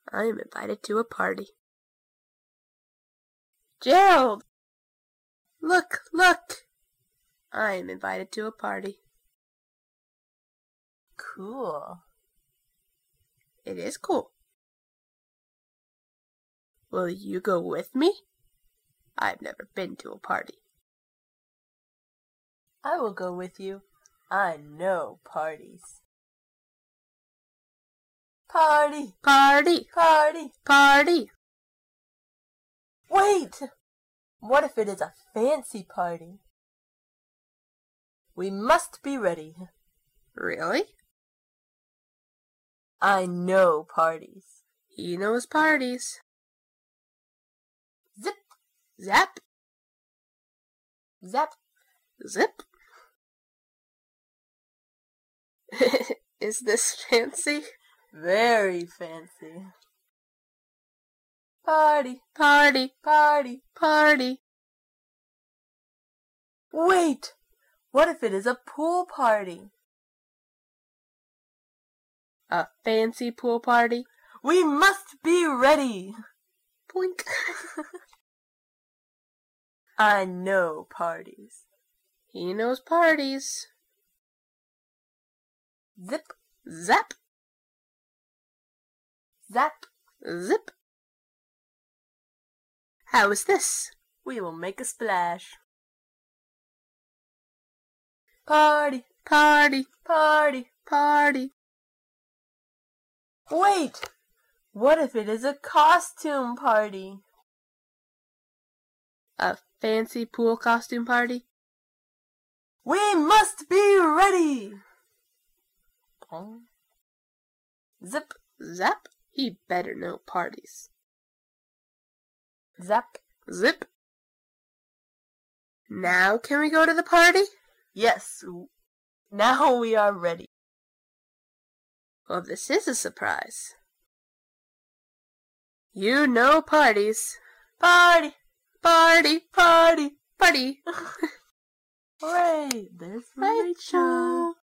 I am invited to a party. Gerald! Look, look! I am invited to a party. Cool. It is cool. Will you go with me? I've never been to a party. I will go with you. I know parties. Party! Party! Party! Party! Wait! What if it is a fancy party? We must be ready. Really? I know parties. He knows parties. Zip! Zap! Zap! Zip! Is this fancy? Very fancy. Party! Party! Party! Party! Wait! What if it is a pool party? A fancy pool party? We must be ready! Blink! I know parties. He knows parties. Zip! Zap! Zap! Zip! How is this? We will make a splash. Party! Party! Party! Party! Wait! What if it is a costume party? A fancy pool costume party? We must be ready! Zip! Zap! He better know parties. Zap! Zip! Now can we go to the party? Yes, now we are ready. Well, this is a surprise. You know parties. Party! Party! Party! Party! Hooray! There's Rachel.